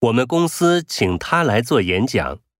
我们公司请他来做演讲。